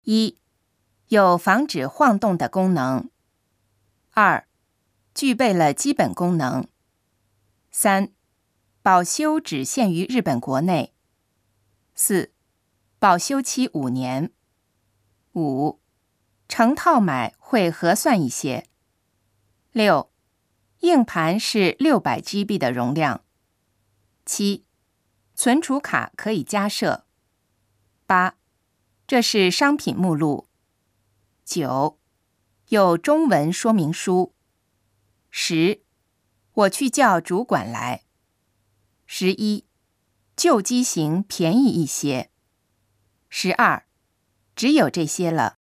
一、有防止晃动的功能。2、具备了基本功能。3、保修只限于日本国内。4、保修期5年。5、成套买会合算一些。6、硬盘是600GB 的容量。7、存储卡可以加设。8、这是商品目录。9、有中文说明书。10、我去叫主管来。11、旧机型便宜一些。12、只有这些了。